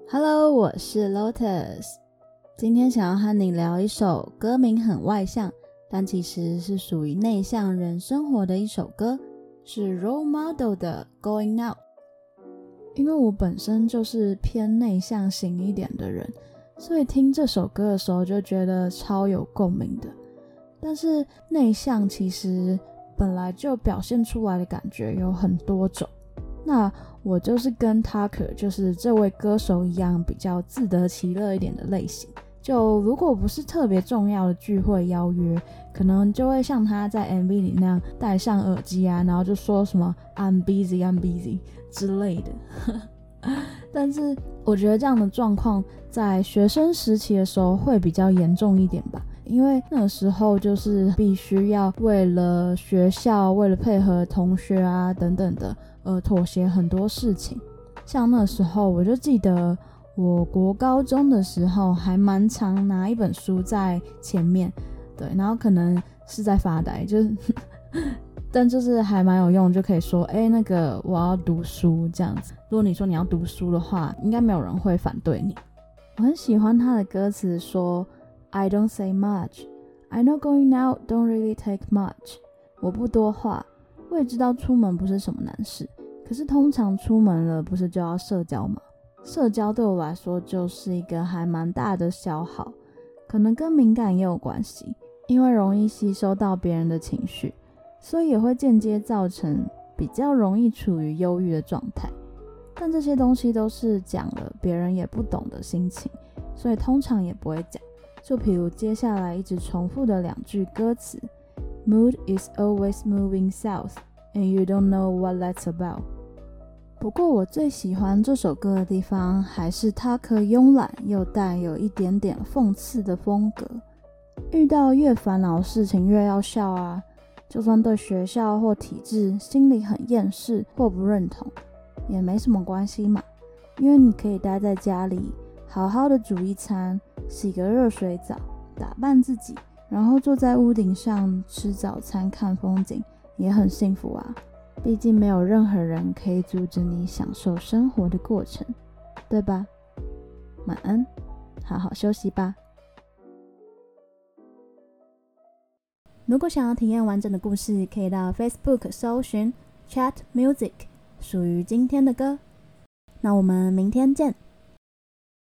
Hello， 我是 Lotus， 今天想要和你聊一首歌名很外向，但其实是属于内向人生活的一首歌，是 Role Model 的 Going Out。 因为我本身就是偏内向型一点的人，所以听这首歌的时候就觉得超有共鸣的。但是内向其实本来就表现出来的感觉有很多种，那我就是跟 Tucker 就是这位歌手一样，比较自得其乐一点的类型。就如果不是特别重要的聚会邀约，可能就会像他在 MV 里那样戴上耳机啊，然后就说什么 I'm busy I'm busy 之类的但是我觉得这样的状况在学生时期的时候会比较严重一点吧，因为那个时候就是必须要为了学校，为了配合同学啊等等的妥协很多事情。像那时候我就记得我国高中的时候还蛮常拿一本书在前面，对，然后可能是在发呆，就是但就是还蛮有用，就可以说那个我要读书这样子。如果你说你要读书的话，应该没有人会反对你。我很喜欢他的歌词说 I don't say much I know going out don't really take much。 我不多话，我也知道出门不是什么难事，可是通常出门了不是就要社交吗？社交对我来说就是一个还蛮大的消耗，可能跟敏感也有关系，因为容易吸收到别人的情绪，所以也会间接造成比较容易处于忧郁的状态。但这些东西都是讲了别人也不懂的心情，所以通常也不会讲。就比如接下来一直重复的两句歌词 Mood is always moving south and you don't know what that's about。 不过我最喜欢这首歌的地方还是Tucker慵懒又带有一点点讽刺的风格。遇到越烦恼的事情越要笑啊，就算对学校或体制心里很厌世或不认同也没什么关系嘛，因为你可以待在家里好好的煮一餐，洗个热水澡，打扮自己，然后坐在屋顶上吃早餐看风景，也很幸福啊。毕竟没有任何人可以阻止你享受生活的过程，对吧？晚安，好好休息吧。如果想要体验完整的故事，可以到 Facebook 搜寻 Chat Music， 属于今天的歌。那我们明天见。